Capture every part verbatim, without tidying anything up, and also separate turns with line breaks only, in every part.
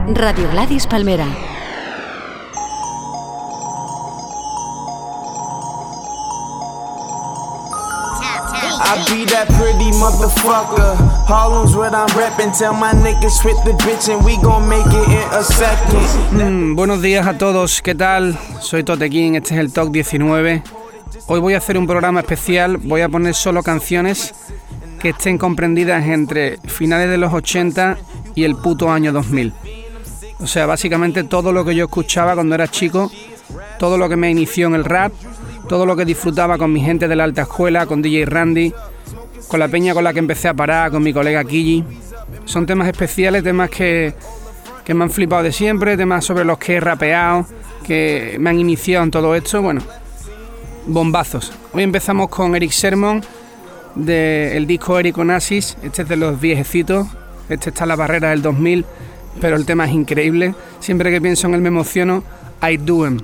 Radio Gladys Palmera.
I be that pretty motherfucker. Harlem's what I'm reppin'. Tell my niggas hit the bitch and we gon' make it in a second.
Mm, buenos días a todos, ¿qué tal? Soy Tote King, este es el Top diecinueve. Hoy voy a hacer un programa especial, voy a poner solo canciones que estén comprendidas entre finales de los ochenta y el puto año dos mil. O sea, básicamente todo lo que yo escuchaba cuando era chico, todo lo que me inició en el rap, todo lo que disfrutaba con mi gente de la alta escuela, con D J Randy, con la peña con la que empecé a parar, con mi colega Kiji. Son temas especiales, temas que, que me han flipado de siempre, temas sobre los que he rapeado, que me han iniciado en todo esto, bueno, bombazos. Hoy empezamos con Erick Sermon, del disco Eric Onassis, este es de los viejecitos, este está en la barrera del dos mil, pero el tema es increíble. Siempre que pienso en él me emociono. I do em.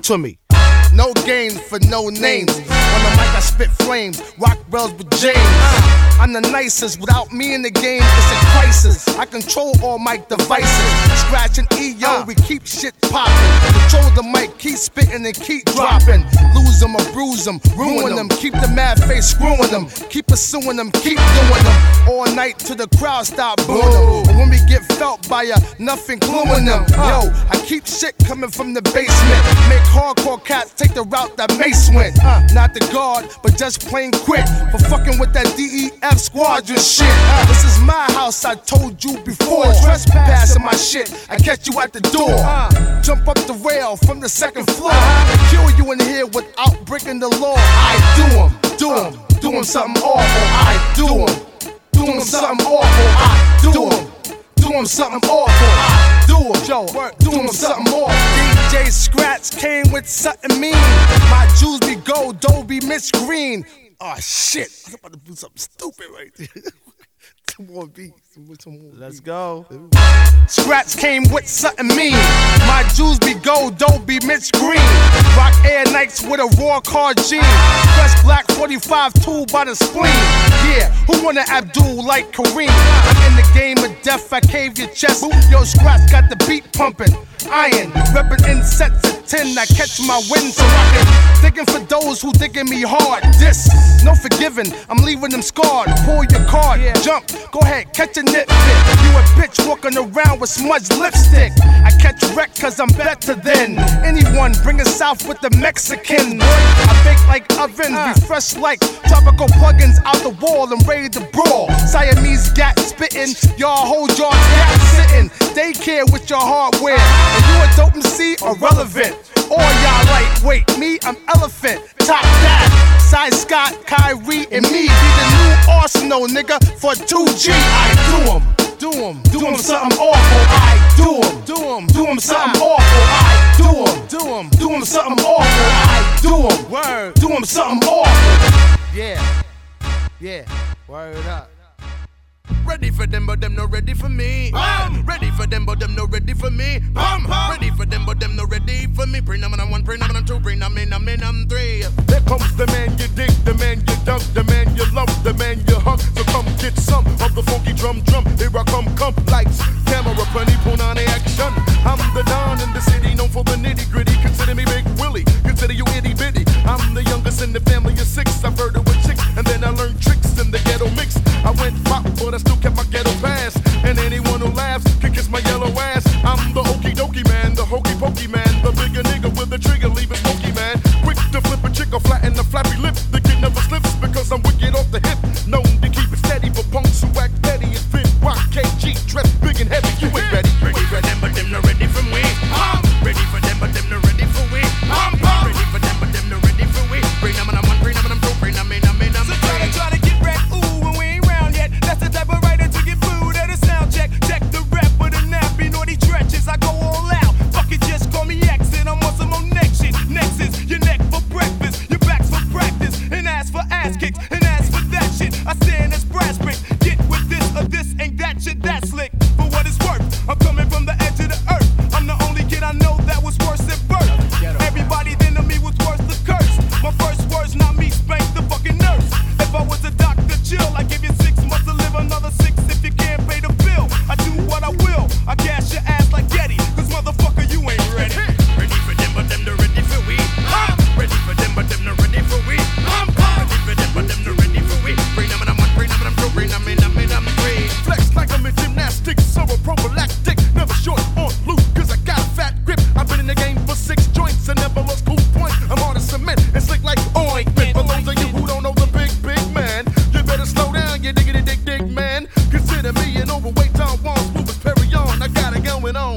No games for no names. On the mic I spit flames, rock bells with James. Uh, I'm the nicest, without me in the game it's a crisis. I control all mic devices. Scratch and E O, we keep shit poppin'. Control the mic, keep spittin' and keep droppin'. Lose them or bruise them, ruin them. Keep the mad face screwing them. Keep pursuing them, keep doing them. All night till the crowd stop booing them. And when we get felt by ya, nothing gluing them. Yo, I keep shit coming from the basement. Make hardcore cats take the route that Mace went. Uh, not the guard, but just plain quit for fucking with that D E F squadron shit. Uh, this is my house, I told you before. Trespassing my shit, I catch you at the door. Uh, jump up the rail from the second floor. Uh, kill you in here without breaking the law. I do 'em, do 'em, do 'em something awful. I do 'em, do 'em something awful. I do 'em. Do him something awful. I do him, Joe. Do him something awful. D J Scratch came with something mean. My jewels be gold, dough be Miss Green. Oh shit! I was about to do something stupid right there. Come on, B. Let's go. Scratch came with something mean. My jewels be gold, don't be Mitch Green. Rock Air Nikes with a raw car jean. Fresh black forty-five tool by the spleen. Yeah, who wanna Abdul like Kareem? I'm in the game of death, I cave your chest. Yo, Scratch got the beat pumping. Iron, reppin' in sets of ten. I catch my win, so rockin'. Thinking for those who thinking me hard. This, no forgiving, I'm leaving them scarred. Pull your card, yeah. Jump, go ahead, catch a nitpick. You a bitch walking around with smudged lipstick. I catch wreck cause I'm better than anyone. Bring us south with the Mexican. Boy, I bake like ovens, refresh like tropical plugins out the wall and ready to brawl. Siamese gat spittin', y'all hold your gat sittin'. Daycare with your hardware. And you a dope M C, irrelevant. All y'all lightweight, me, I'm elephant. Top that, Cy Scott, Kyrie, and me be the new Arsenal, nigga, for two G. I do 'em, do 'em, do 'em something awful. I do 'em, do 'em, do 'em something awful. I do 'em, do 'em, do 'em something awful. I do 'em, word, do 'em something awful. Yeah, yeah, word up.
Ready for them, but them not ready for me. Bam! Ready for them, but them not ready for me. Bam! Ready for them, but them not ready for me. Bring them on one, bring them on two, bring them in, I'm in, I'm three.
There comes the man you dig, the man you dug, the man you love, the man you hug. So come get some of the funky drum drum. Here I come, come, lights, camera, plenty, put on the action. I'm the Don in the city, known for the nitty gritty. Consider me Big Willie, consider you itty bitty. I'm the youngest in the family of six. I've heard it with chicks, and then I learned tricks in the ghetto mix. I went pop, but I still kept my ghetto pass. And anyone who laughs can kiss my yellow ass. I'm the okie dokie man, the hokey pokey man, the bigger nigga with the trigger, leave it smoky man. Quick to flip a chick or flatten the flappy lip. The kid never slips because I'm wicked off the hip. Known to keep it steady for punks who act petty. It's been rock K G, dressed big and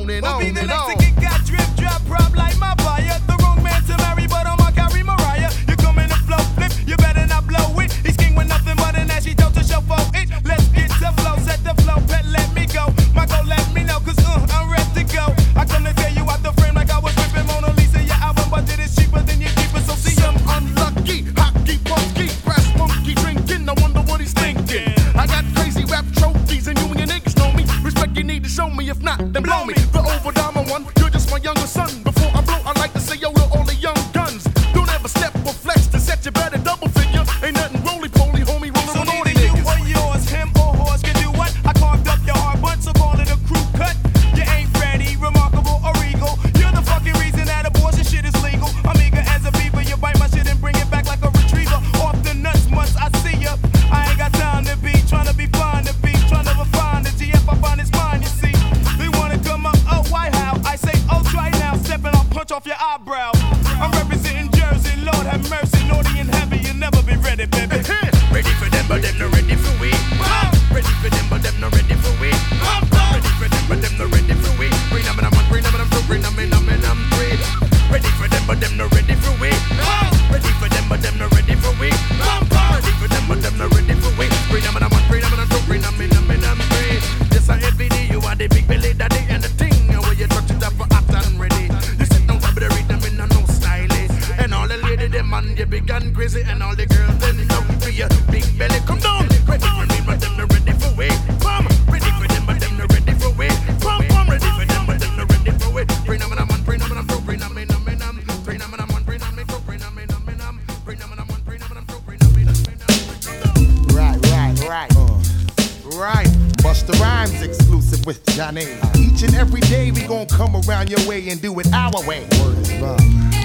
on and
We'll
on
be the
and
next
on.
to get got drip, drop, prop like my fire. The wrong man to marry, but I'ma carry Mariah. You come in the flow flip, you better not blow it. He's king with nothing but an ashy dope to show for it. Let's get the flow, set the flow, pet, let me go. My go, let me know, cause uh, I'm ready to go. I come to tear you out the frame like I was ripping Mona Lisa. Your album budget is cheaper than your keeper, so see
Some
ya.
unlucky, hockey, punky, brass monkey drinking. I wonder what he's thinking. I got crazy rap trophies and you and your niggas know me. Respect you need to show me, if not, then blow me. The overdama one, you're just my younger son. Before I blow, I like to say yo to all the young guns. Don't ever step or flex to set you better double figure. Ain't nothing roly-poly, homie, rolling
So
on all
neither
these
you
niggas.
or yours, him or horse can do what? I carved up your hard butt, so call it a crew cut. You ain't ready, remarkable or regal. You're the fucking reason that abortion shit is legal. I'm eager as a beaver, you bite my shit and bring it back like a retriever. Off the nuts, once I see ya. I ain't got time to be trying to be fine to be trying to refine the G F I find it's mine, you see. They wanna come up, oh why how? I say oh try now, stepping I'll punch off your eyebrow. I'm representing Jersey, Lord have mercy, naughty and heavy, you'll never be ready, baby.
Ready for them, but them not ready for we. Ready for them, but them not ready for we. Ready for them, but them not ready for we. Bring them in, I'm bring them in, I'm bring them in, I'm in, I'm three. Ready for them, but them not ready for we. Ready for them, but them not ready for we. Ready for them, but them not ready for we. Bring them in, I'm bring them in, I'm bring them in, I'm in, I'm three. Yes, I F D, you are the big belly daddy and the thing where you touch it up for hot and ready. You sit down top of the rhythm in a no stylish. And all the ladies, them man, they big and crazy, and all the girls, them love for your big belly. Come down, ready for me, but them not ready for we. Come, ready for them, but them not ready for we. Come, come, ready for them, but them not ready for we. Bring them in, I'm on, bring them in, I'm through, bring them in, I'm in, I'm bring them in, I'm on, bring them in, through, bring them in, I'm in, I'm bring them in, I'm on, bring them in, I'm through, bring them in, I'm in, I'm
Right, right, right. Uh, right. Busta Rhymes exclusive with Johnny. Each and every day we gon' come around your way and do it our way. Word is love.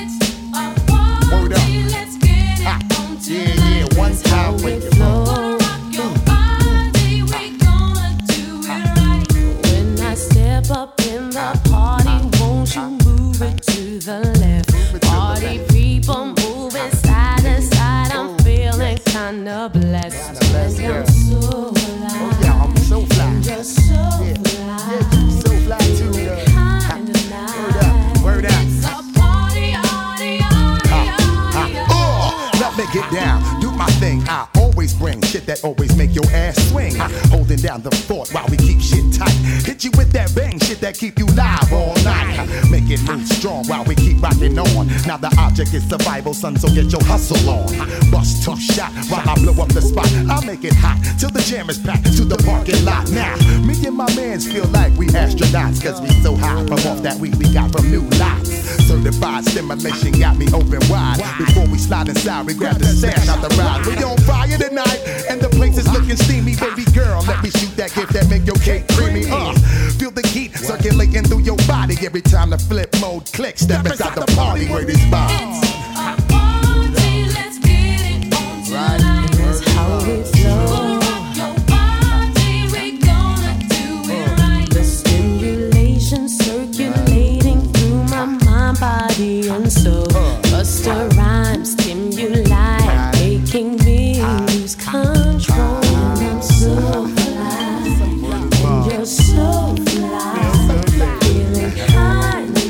Word up.
Let's get it
Ha.
on
Yeah,
tonight.
yeah, one
That's how
time
we
with your
flow.
flow.
Gonna rock your body, we gonna do it right. When I step up in the party, won't you move it to the left?
Move it to the
Party
left.
people moving side to side. I'm feeling kinda blessed.
Kinda blessed,
And I'm
girl.
so fly.
Oh yeah, I'm so fly.
You're so
Yeah,
fly.
yeah, you so fly too, girl.
Kinda
Word up, word up.
nice. It's a party, party, party, party,
Uh, let me get down, do my thing. I always bring shit that always make your ass swing. Holding down the fort while we keep shit tight. Hit you with that bang shit that keep you live all night. Make it move strong while we keep rocking on. Now the object is survival, son, so get your hustle on. Bust tough shot while I blow up the spot. I'll make it hot till the jam is packed to the parking lot. Now, me and my mans feel like we astronauts, cause we so high from off that weed we got from new lots. Certified stimulation got me open wide. Before we slide inside, we grab the stash out the ride. We on fire tonight, and the place is looking steamy. Baby girl, let me shoot that gift that make your cake creamy. Uh, feel the heat circulating through your body every time the flip mode clicks. Step inside the party where this bomb.
It's a party, let's get it on tonight. That's how we flow. Gonna rock your body, we gonna do it right. The stimulation circulating through my mind, body, and soul. Busta Rhymes stimuli, making me lose control. And I'm so fly, and you're so fly, feeling kinda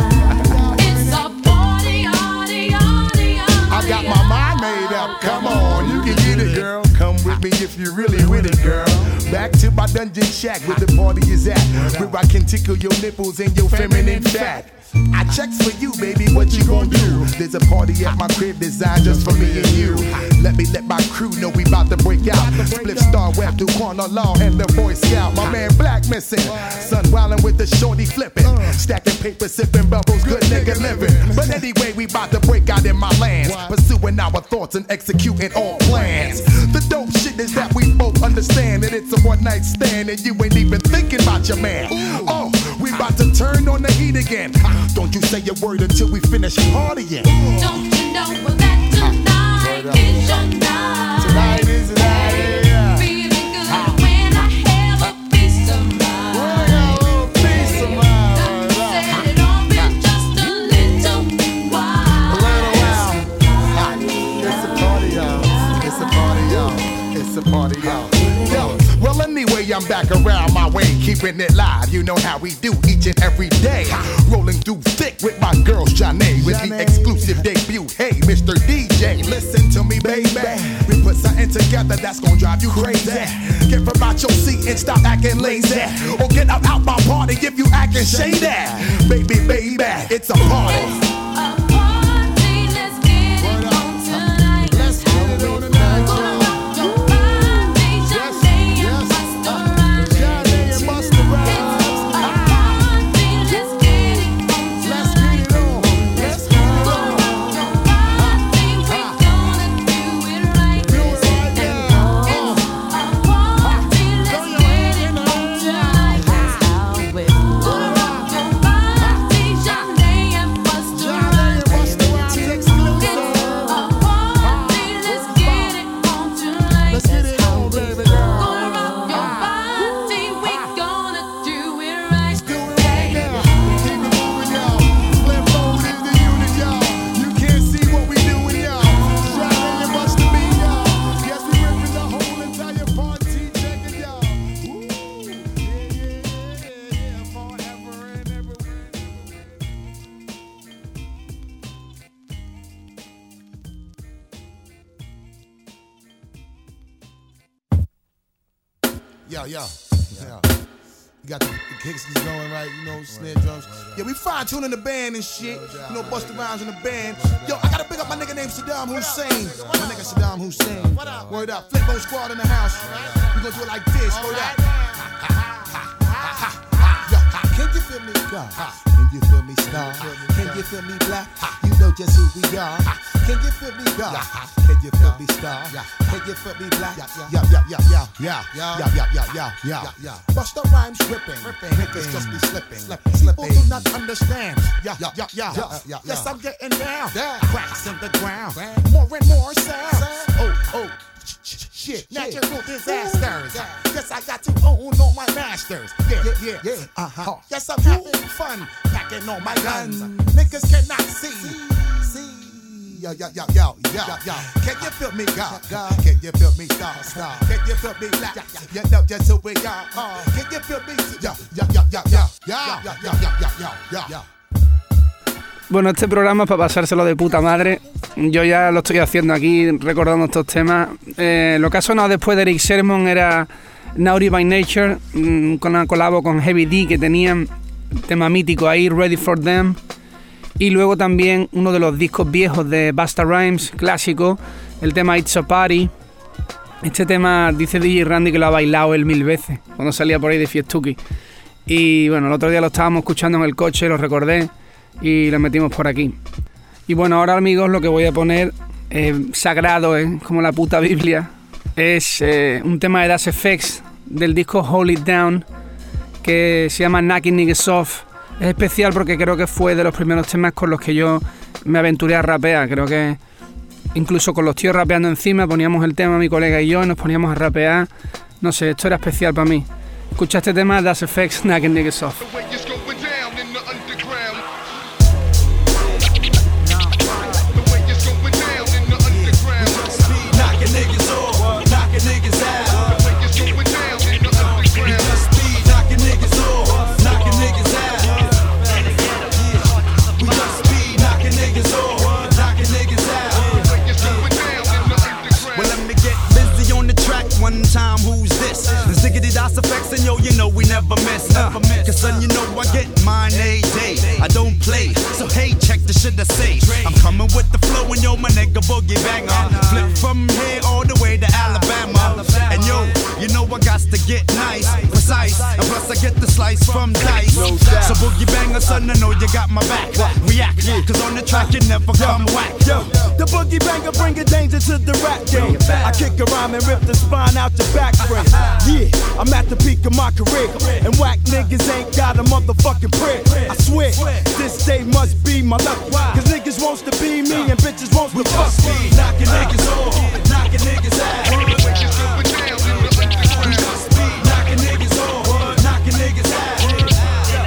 nice. It's a party, party, party,
I got my mind made up. Come on, you can get it, girl. Come with me if you really with it, girl. Back to my dungeon shack where the party is at, where I can tickle your nipples and your feminine fat. I checks for you, baby, what you gon' do? There's a party at my crib designed just for me and you. Let me let my crew know we bout to break out. Split Star Web through Corner Law and the Boy Scout. My man Black missing. Son wildin' with the shorty flipping. Stacking paper, sipping bubbles, good nigga living. But anyway, we bout to break out in my lands. Pursuing our thoughts and executing all plans. The dope shit is that we both understand that it's a one night stand and you ain't even thinking about your man. Oh, we bout to turn on the heat again. Don't you say a word until we finish partying.
Don't you know that tonight is your night?
Tonight is the night, yeah.
Feeling good when I have a piece of mind.
Oh, peace of mind.
Set it on me just a little while.
It's a party, y'all. It's a party, y'all. It's a party, y'all. Yo, well, anyway, I'm back around my way.
keeping it live. You know how we do each and every day. Rolling through thick with my girl Shanae with the exclusive debut. Hey, Mister D J, listen to me, baby. We put something together that's gonna drive you crazy. Get from out your seat and stop acting lazy, or get up out my party if you acting shady. Baby, baby, it's a party. Yo, yo, yo. You got the, the kicks is going right, you know, snare drums. Yeah, we fine tuning the band and shit. You know, Busta Rhymes in the band. Yo, I gotta pick up my nigga named Saddam Hussein. My nigga Saddam Hussein. Word up. Flipbo Squad in the house. We gonna do it like this. Word up. Can you feel me, God? Can you feel me, star? Can you feel me, black? You know just who we are. Can you feel me, God? Can you feel me, star? Can you feel me, black? Yeah, yeah, yeah, yeah, yeah, yeah, yeah, yeah, yeah, yeah. Busta Rhymes tripping, niggas just be slipping. People do not understand. Yeah, yeah, yeah, yeah, yeah. Yes, I'm getting down. Cracks in the ground, more and more sound. Oh, oh. Shit, natural disasters. Yes, I got to own all my masters. Yeah, yeah, yeah. Uh-huh. Yes, I'm having fun, packing all my guns. Niggas cannot see. See. Yo, yo, yo, yo, yo, yo. Can you feel me, God? Can you feel me, star, star? Can you feel me, black? You know just who we are. Can you feel me? Yo, yo, yo, yo, yo, yo, yo, yo, yo, yo, yo, yo.
Bueno, este programa es para pasárselo de puta madre. Yo ya lo estoy haciendo aquí, recordando estos temas. Eh, lo que ha sonado después de Erick Sermon era Naughty by Nature, mmm, con una colabo con Heavy D, que tenían tema mítico ahí, Ready for Them. Y luego también uno de los discos viejos de Busta Rhymes, clásico, el tema It's a Party. Este tema dice D J Randy que lo ha bailado él mil veces, cuando salía por ahí de Fiestuki. Y bueno, el otro día lo estábamos escuchando en el coche, lo recordé, y lo metimos por aquí. Y bueno, ahora amigos, lo que voy a poner, eh, sagrado, eh, como la puta Biblia, es eh, un tema de Das F X del disco Hold It Down, que se llama Knocking Niggas Off. Es especial porque creo que fue de los primeros temas con los que yo me aventuré a rapear. Creo que incluso con los tíos rapeando encima poníamos el tema, mi colega y yo, y nos poníamos a rapear. No sé, esto era especial para mí. Escucha este tema, Das F X, Knocking Niggas Off.
One time, who's this? The ziggity Das F X, and yo, you know we never miss. Uh, Cause son, you know I get mine a day. I don't play, so hey, check the shit I say. I'm coming with the flow, and yo, my nigga boogie banger. Flip from here all the way to Alabama. And yo, you know I got to get nice, precise. And plus I get the slice from Dice. So boogie banger, son, I know you got my back. React, cause on the track you never come whack. Yo, the boogie banger bring a danger to the rap game. I kick a rhyme and rip the spine out your back frame. Yeah, I'm at the peak of my career, and whack niggas ain't got a motherfucking prayer. I swear, this day must be my lucky, cause niggas wants to be me and bitches wants to fuck me. Knocking niggas off, knocking niggas out. We just be knocking niggas off, knocking niggas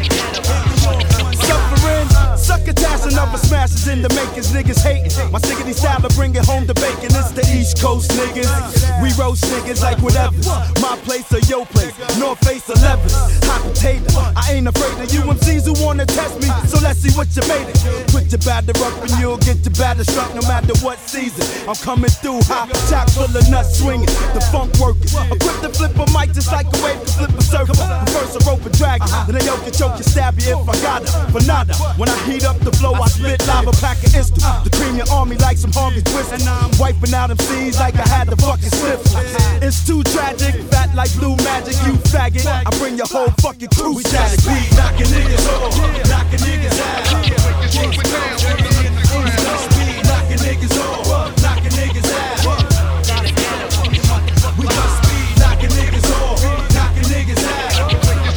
out. Suffering, succotash and other smashes in the makers, niggas hating. My sickety style to bring it home to bacon. It's the East Coast niggas. We roast niggas like whatever's. My place or your place. North Face or Levis. Hot potato. I ain't afraid of you M Cs who wanna test me. So let's see what you made it. Put your batter up and you'll get your batter struck no matter what season. I'm coming through hot, chock full of nuts swinging. The funk working. Equipped to flip a mic just like a wave to flip a circle. First a rope and drag it. Then they yoke and choke you, stab you if I got it. For nada. When I heat up the flow, I spit lava, pack an instant. The cream your army like some hungry twist. And I'm wiping out M Cs like I had the fucking slip. It's too tragic, fat like blue magic. You faggot, I bring your whole fucking crew static. We knocking niggas off, knocking niggas out. Knocking niggas off, knocking niggas out. We just speed knocking niggas off, knocking niggas out.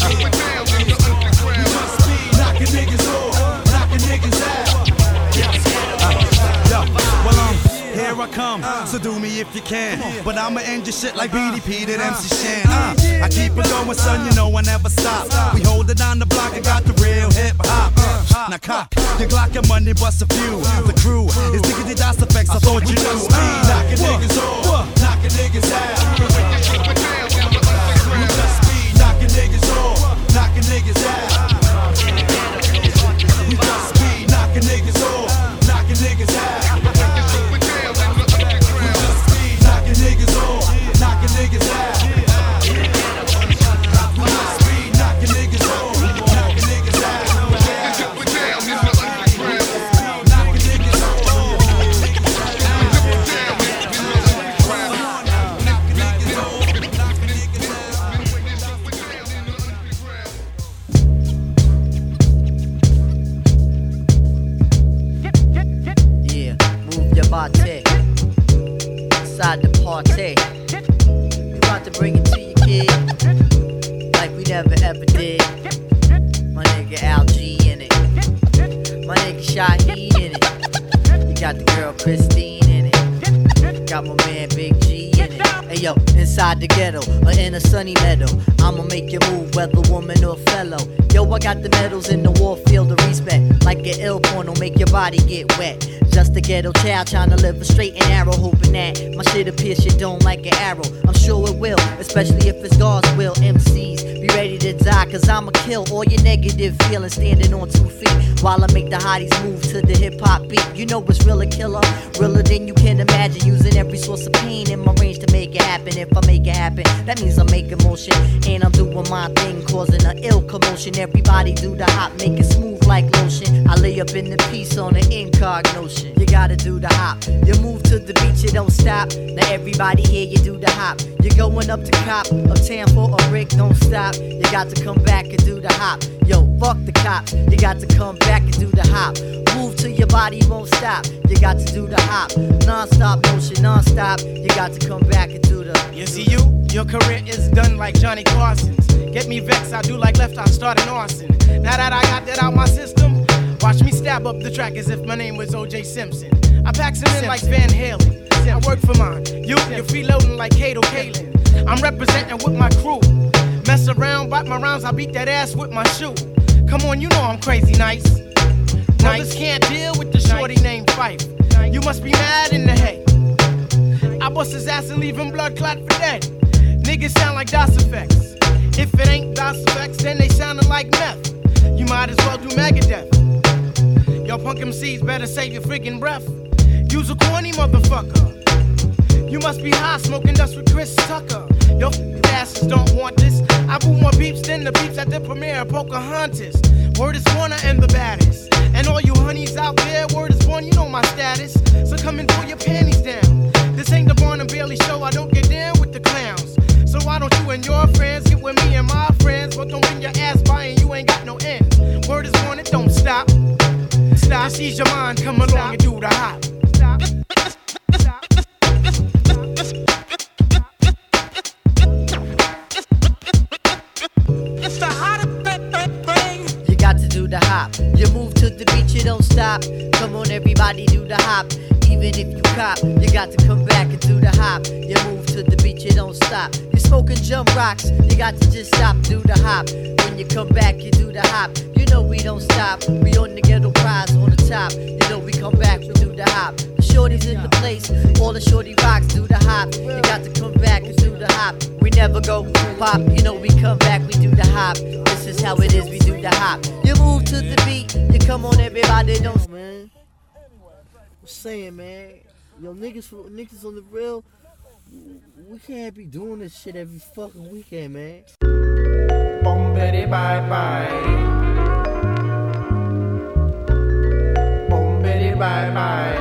We just speed knocking niggas off, knocking niggas out. Yo, well um, here I come, so do me if you can. But I'ma end your shit like B D P did M C Shan. Uh, I keep it going, son, you know I never stop. We hold it on the block and got the real hip hop. Uh, now cock your Glock and money bust a few. The crew is diggity das effects. I thought you knew. Speed knocking niggas off, knocking niggas out. We just speed knocking niggas off, knocking niggas out. We just speed knocking niggas off, knocking niggas out. We just speed knocking niggas off, knocking niggas out. We just speed knocking niggas off, knocking niggas out.
Party inside the party. We about to bring it to you, kid, like we never ever did. My nigga Al G in it, my nigga Shaheed in it. You got the girl Christine in it, got my man Big G in it. Hey yo, inside the ghetto or in a sunny meadow, I'ma make you move whether woman or fellow. Yo, I got the medals in the war field of respect, like an ill porno, make your body get wet. Just a ghetto child trying to live a straight and narrow, hoping that my shit'll pierce your dome like an arrow. I'm sure it will, especially if it's God's will. M Cs, be ready to die, cause I'ma kill all your negative feelings standing on two feet, while I make the hotties move to the hip-hop beat. You know it's real a killer, realer than you can imagine, using every source of pain in my range to make it happen. If I make it happen, that means I'm making motion, and I'm doing my thing, causing an ill commotion. Everybody do the hop, make it smooth like lotion. I lay up in the piece on an incog notion. You gotta do the hop. You move to the beat, you don't stop. Now everybody here, you do the hop. You're going up to cop, uptown for a brick, don't stop. You got to come back and do the hop. Yo, fuck the cops. You got to come back and do the hop. Move till your body won't stop. You got to do the hop. Non-stop motion, non-stop. You got to come back and do the.
You see you? Your career is done like Johnny Carson's. Get me vexed, I do like left, I start an arson. Now that I got that out my system, watch me stab up the track as if my name was O J Simpson. I pack some in like Van Halen. I work for mine. You, you're freeloading like Kato Kalin. I'm representing with my crew. Mess around, bite my rhymes, I beat that ass with my shoe. Come on, you know I'm crazy nice. Brothers can't deal with the shorty named Fife. You must be mad in the head. I bust his ass and leave him blood clot for dead. Niggas sound like DOS effects. If it ain't DOS effects, then they soundin' like meth. You might as well do Megadeth. Y'all punk M Cs better save your freaking breath. Use a corny motherfucker. You must be high smoking dust with Chris Tucker. Yo, asses don't want this. I boot more beeps than the beeps at the premiere of Pocahontas. Word is Warner and the baddest. And all you honeys out there, word is born, you know my status. So come and pull your panties down. This ain't the Barnum Bailey show, I don't get down with the clowns. So why don't you and your friends get with me and my friends, but don't bring your ass by and you ain't got no end. Word is born, it don't stop. Stop, just ease your mind, come along Stop. And do the hop. Stop. Stop. It's the hottest thing. You got to do the hop. You move to the beat, you don't stop. Come on, everybody, do the hop. Even if you cop, you got to come back and do the hop. You move to the beat, you don't stop. You smoking jump rocks, you got to just stop, do the hop. When
When you come back, you do the hop. You know we don't stop. We on the ghetto prize on the top. You know we come back, we do the hop. The shorties in the place, all the shorty rocks do the hop. You got to come back and do the hop. We never go pop. You know we come back, we do the hop. This is how it is, we do the hop. You move to the beat, you come on everybody, don't man. I'm saying, man, yo niggas, niggas on the real, we can't be doing this shit every fucking weekend, man.
Boom, bitty, bye bye. Boom, bitty, bye bye.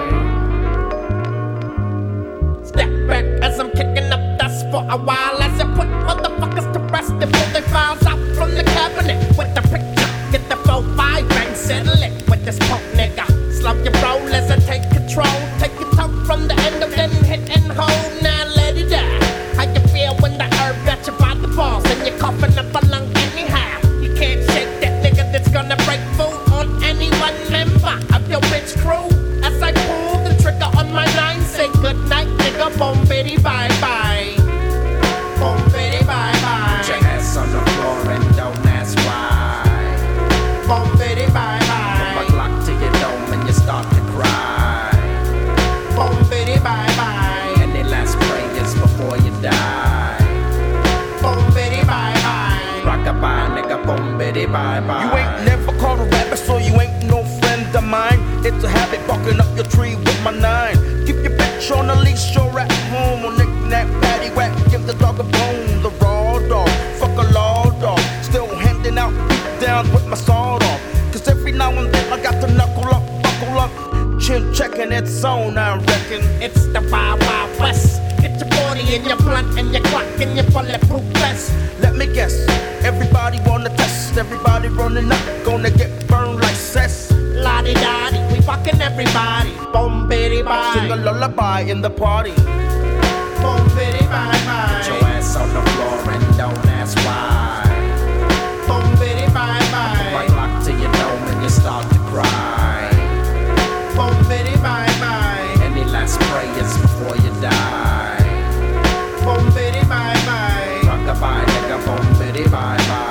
Step back as I'm kicking up dust for a while, as I put motherfuckers to rest before they files out from the cabinet with the picture. Get the four five and settle it with this punk nigga. Slow your roll as I take control. Take your toe from the end of then hit and hold. Now let it die. How you feel when the herb got you by the balls and you're coughing up a lung anyhow? You can't shake that nigga that's gonna break food on any one member of your bitch crew. As I pull the trigger on my line, say good night, nigga. Boom, bitty, bye bye. Boom, bitty, bye bye. Put your ass on the floor and don't ask why. Boom, bitty, bye bye. Put my Glock to your dome and you start to cry. Boom, bitty, bye bye. Any last prayers before you die? Boom, bitty, bye bye. Rock-a-bye, nigga. Boom, bitty, bye bye.
You ain't never caught a rabbit, so you ain't no friend of mine. It's a habit barking up your tree with my nine. Keep your bitch on the leash, you're at home. On knick-knack, paddywhack, give the dog a bone. The raw dog, fuck a law dog. Still handing out beat downs with my sword on. Cause every now and then I got to knuckle up, buckle up. Chin checking its own, I reckon.
It's the Wild Wild West. Get your forty and your blunt and your clock and your bulletproof vest.
Let me guess, everybody wanna test. Everybody running up, gonna get burned like cess.
La-di-da-di, we fucking everybody. Boom, bitty, bye.
Sing a lullaby in the party.
Boom, bitty, bye, bye.
Put your ass on the floor and don't ask why.
Boom, bitty, bye, bye.
Put my Glock to your dome and you start to cry.
Boom, bitty, bye, bye.
Any last prayers before you die?
Boom, bitty, bye, bye.
Rock-a-bye, nigga. Boom, bitty, bye, bye.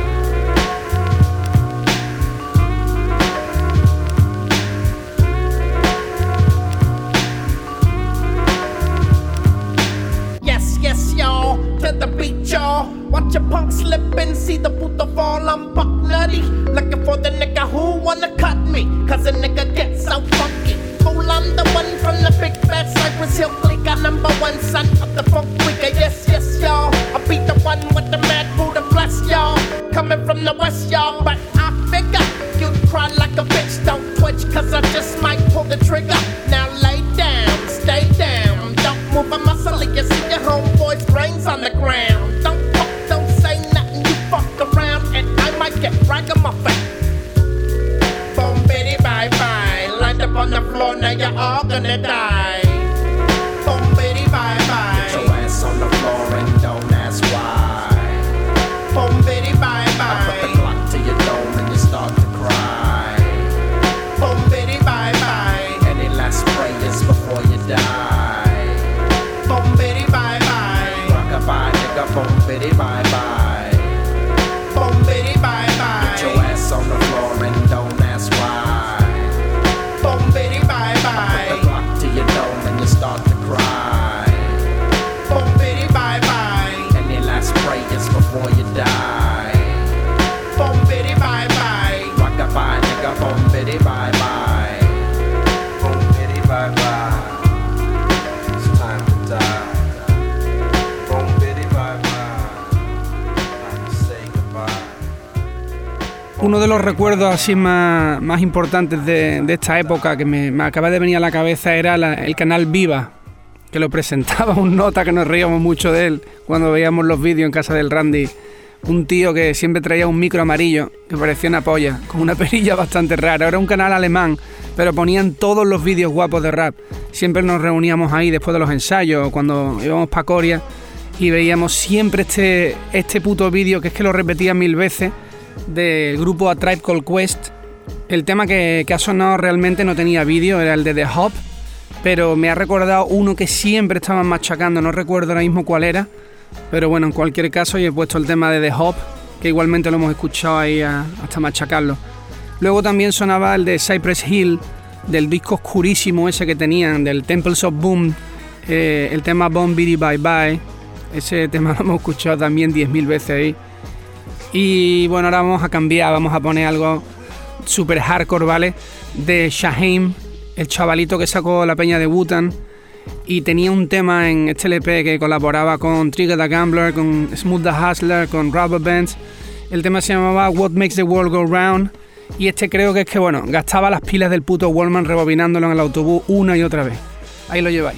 To the beat, y'all. Watch a punk slip and see the puto fall. I'm buck nutty. Looking for the nigga who wanna cut me. Cause a nigga gets so funky. Fool, I'm the one from the big bad Cypress Hill clique. I number one son of the funk freaker. Yes, yes, y'all. I be the one with the mad Buddha bless, y'all. Coming from the west, y'all. But I figure you'd cry like a bitch. Don't twitch, cause I just might pull the trigger. Now lay down, stay down. Don't move a muscle, you see your homeboy's brains on the ground. Don't talk, don't say nothing, you fuck around and I might get ragamuffin. Boom, bitty, bye bye. Lined up on the floor, now you're all gonna die. Boom, bitty, bye bye.
Put your ass on the floor and don't ask why.
Boom, bitty, bye bye.
I put the Glock to your dome and you start to cry.
Boom, bitty, bye bye.
Any last prayers before you die?
Boom, bitty, bye bye.
Rock-a-bye, nigga. Boom, bitty, bye bye.
Boom, bitty, bye bye.
Put your ass on the floor and don't ask why.
Boom, bitty, bye bye.
I put the Glock to your dome and you start to cry.
Boom, bitty, bye bye.
Any last prayers before you die?
Boom, bitty, bye bye.
Rock-a-bye, nigga. Boom, bitty, bye bye. Boom, bitty, bye bye. It's time to die. Boom, bitty, bye bye. Time to say goodbye.
Uno de los recuerdos así más, más importantes de, de esta época que me, me acaba de venir a la cabeza era la, el canal Viva, que lo presentaba un nota que nos reíamos mucho de él cuando veíamos los vídeos en casa del Randy. Un tío que siempre traía un micro amarillo que parecía una polla, con una perilla bastante rara. Era un canal alemán, pero ponían todos los vídeos guapos de rap. Siempre nos reuníamos ahí después de los ensayos, cuando íbamos pa' Coria, y veíamos siempre este, este puto vídeo, que es que lo repetían mil veces, del grupo A Tribe Called Quest. El tema que, que ha sonado realmente no tenía vídeo, era el de The Hop, pero me ha recordado uno que siempre estaban machacando, no recuerdo ahora mismo cuál era, pero bueno, en cualquier caso yo he puesto el tema de The Hop que igualmente lo hemos escuchado ahí a, hasta machacarlo. Luego también sonaba el de Cypress Hill, del disco oscurísimo ese que tenían, del Temples of Boom, eh, el tema Bon Bidi Bye Bye. Ese tema lo hemos escuchado también diez mil veces ahí. Y bueno, ahora vamos a cambiar, vamos a poner algo super hardcore, ¿vale? De Shaheem, el chavalito que sacó la peña de Wu-Tang, y tenía un tema en este L P que colaboraba con Trigger the Gambler, con Smooth the Hustler, con Rubber Bands. El tema se llamaba What Makes the World Go Round, y este creo que es que, bueno, gastaba las pilas del puto Walkman rebobinándolo en el autobús una y otra vez. Ahí lo lleváis.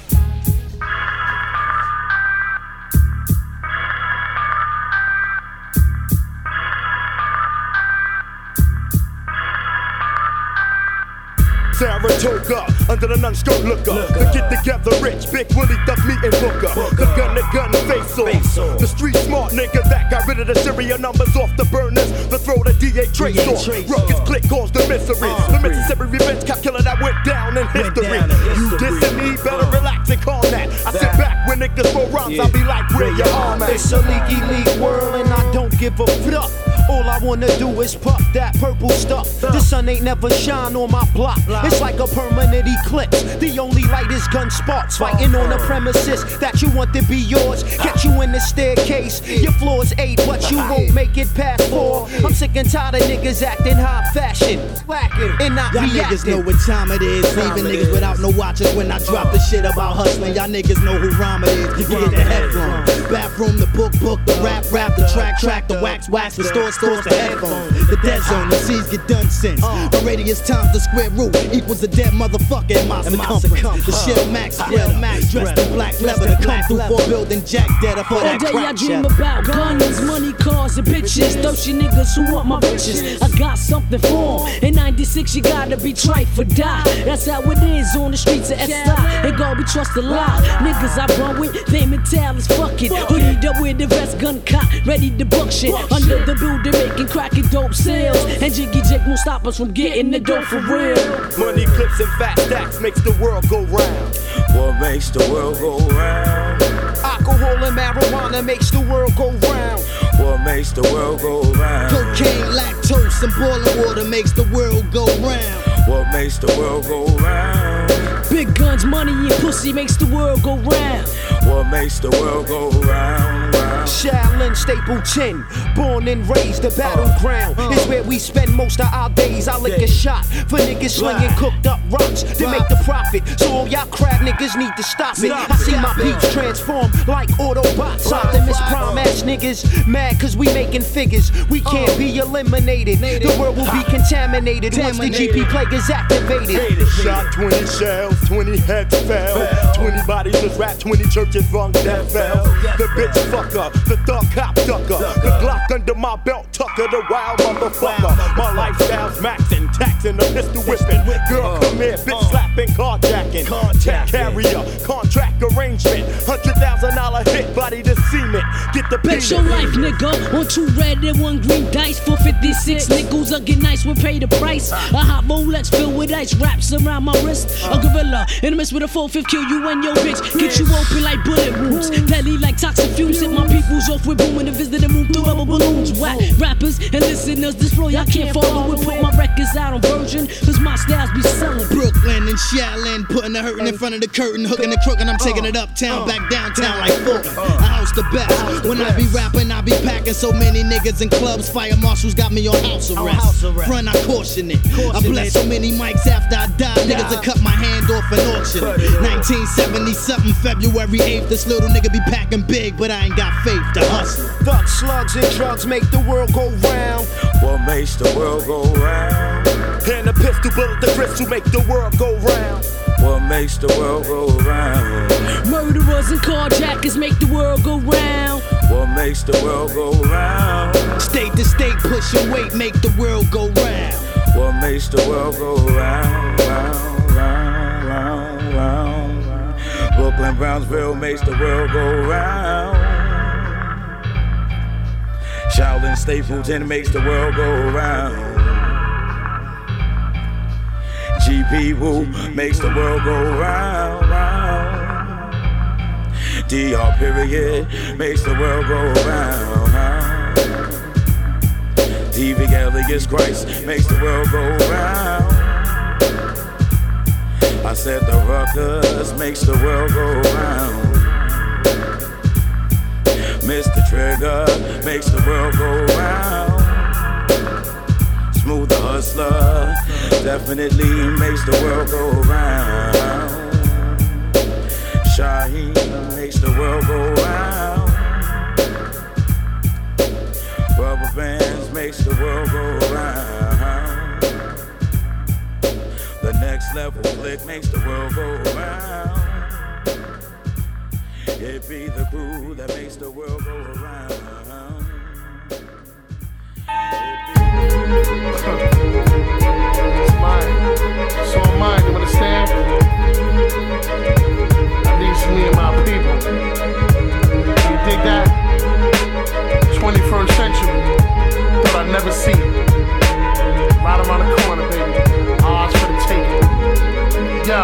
Saratoga, under the non-skirt looker. To get together rich, Big Willie, Duck Me and Booker. The gun, the gun, face off. The street smart nigga that got rid of the serial numbers off the burners. The throw the D A trace off. Ruckus click caused the misery. The Mississippi revenge calculator that went down in history. You dissing me, better relax and calm that. I sit back when niggas throw rhymes, I'll be like, where your arm at?
It's a leaky league world and I don't give a fuck. All I wanna do is puff that purple stuff. The sun ain't never shine on my block. It's like a permanent eclipse. The only light is gun sparks. Fighting on the premises that you want to be yours. Get you in the staircase. Your floor's eight, but you won't make it past four. I'm sick and tired of niggas acting high fashion, slacking and not
y'all
reacting.
Niggas know what time it is. Leaving niggas without no watches when I drop the shit about hustling. Y'all niggas know who rhyme it is. You get the head from. Bathroom, the book, book, the rap, rap, the track, track, the wax, wax, the store, stores, the headphones. The dead zone, the C's get done since. The radius times the square root equals the dead motherfucker in my circumference. The shell max, spread max, dressed in black leather to come through for building jack dead up for that
All day I
crack
dream
shit.
about guns, money, cars, and bitches. Thirsty niggas who want my riches. I got something for 'em. In ninety-six, you gotta be trife for die. That's how it is on the streets of S I. Ain't gonna be trust a lie. Niggas I run with, they mental as fuck it. Hoodied up with the vest, gun cop, ready to buck shit. Under the building, making cracking dope sales. And Jiggy Jake won't stop us from getting the dope for real.
Money clips and fat stacks makes the world go round.
What makes the world go round?
Alcohol and marijuana makes the world go round.
What makes the world go round?
Cocaine, lactose, and boiling water makes the world go round.
What makes the world go round?
Big guns, money, and pussy makes the world go round.
What makes the world go round, round?
Shaolin Stapleton, born and raised, the battleground uh, uh, is where we spend most of our days. I lick a shot for niggas slinging cooked up rocks to make the profit. So all y'all crab niggas need to stop it. I see my peeps transform like Autobots. Optimus Prime ass niggas mad cause we making figures. We can't be eliminated. The world will be contaminated once the G P plague is activated.
Shot twenty shells, twenty heads fell. twenty bodies was wrapped, twenty churches rung that fell. The bitch fucker, the thug cop ducker, the Glock under my belt tucker, the wild motherfucker. My lifestyle's maxing, taxing, the pistol whipping. Girl, come here, bitch slapping, carjacking. Tech carrier, contract arrangement. Hundred thousand dollar hit, body to cement. Get the
Bet your life, nigga. One two red and one green dice for fifty-six nickels. I get nice, we pay the price. A hot Rolex filled with ice wraps around my wrist. A gorilla in the midst with a four fifth kill you and your bitch. Get you open like bullet wounds. Deadly like toxic fumes. Hit my peoples off with boom in the visit and move through rubber balloons. Whack rappers and listeners, this flow y'all can't follow it. Put my records out on Virgin, cause my styles be selling.
Brooklyn and Shaolin, putting the hurtin' in front of the curtain, hooking the crook, and I'm taking it uptown, back downtown like Fulton. I house the best. When I be rapping, I be packing so many niggas in clubs. Fire marshals got me on house arrest. Front, I caution it. I bless so many mics after I die. Niggas will cut my hand off and auction it. nineteen seventy something, February eighth. This little nigga be packing big, but I ain't got faith to hustle.
Thug slugs and drugs make the world go round.
What makes the world go round?
And the pistol bullet, the crystal make the world go round.
What makes the world go round?
Murderers and carjackers make the world go round.
What makes the world go round?
State to state pushing weight make the world go round.
What makes the world go round, round, round, round, round, round? Brooklyn, Brownsville makes the world go round. Shaolin, Stapleton makes the world go round. G P Woo makes the world go round, round. D R period makes the world go round, round. Evangelious Christ makes the world go round. I said the ruckus makes the world go round. Mister Trigger makes the world go round. Smooth the Hustler definitely makes the world go round. Shaheem makes the world go round. Rubber bands makes the world go round. The next level click makes the world go round. It be the crew that makes the world go around.
It's mine. It's all mine, you understand? At least me and my people. You dig that? twenty-first century. Thought I'd never see it. Right around the corner, baby. Odds for the taking. Yo.